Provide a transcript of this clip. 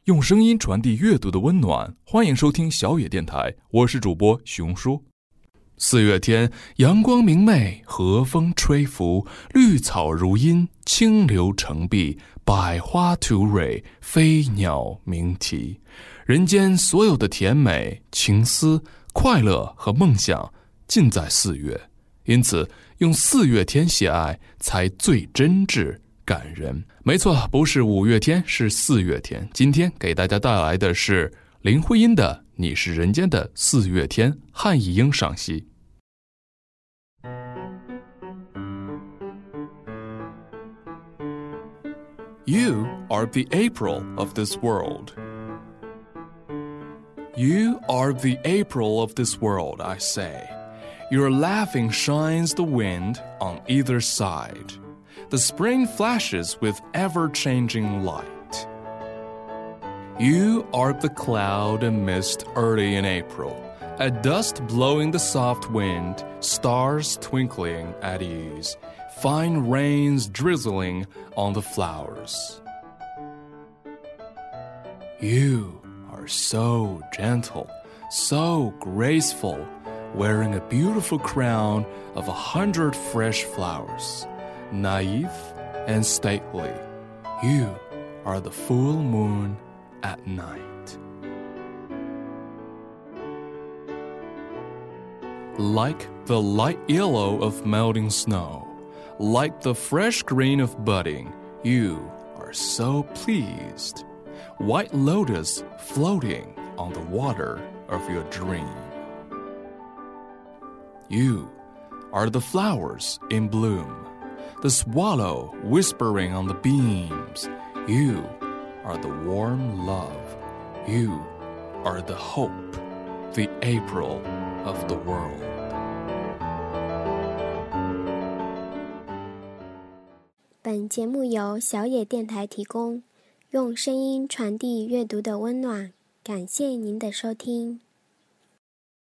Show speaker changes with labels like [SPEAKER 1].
[SPEAKER 1] 用声音传递阅读的温暖，欢迎收听小野电台，我是主播熊叔。4月天，阳光明媚，和风吹拂，绿草如茵，清流成碧，百花吐蕊，飞鸟鸣啼。人间所有的甜美、情思、快乐和梦想尽在4月，因此用4月天写爱才最真挚感人。没错，不是5月天，是4月天。今天给大家带来的是林徽因的《你是人间的4月天》，汉译英赏析。You are the April of this world. You are the April of this world, I say. Your laughing shines the wind on either side.The spring flashes with ever-changing light. You are the cloud and mist early in April, at dust blowing the soft wind, stars twinkling at ease, fine rains drizzling on the flowers. You are so gentle, so graceful, wearing a beautiful crown of 100 fresh flowers.Naive and stately, you are the full moon at night. Like the light yellow of melting snow, like the fresh green of budding, you are so pleased. White lotus floating on the water of your dream. You are the flowers in bloom.The swallow whispering on the beams. You are the warm love. You are the hope, the April of the world.
[SPEAKER 2] 本节目由小野电台提供，用声音传递阅读的温暖。感谢您的收听。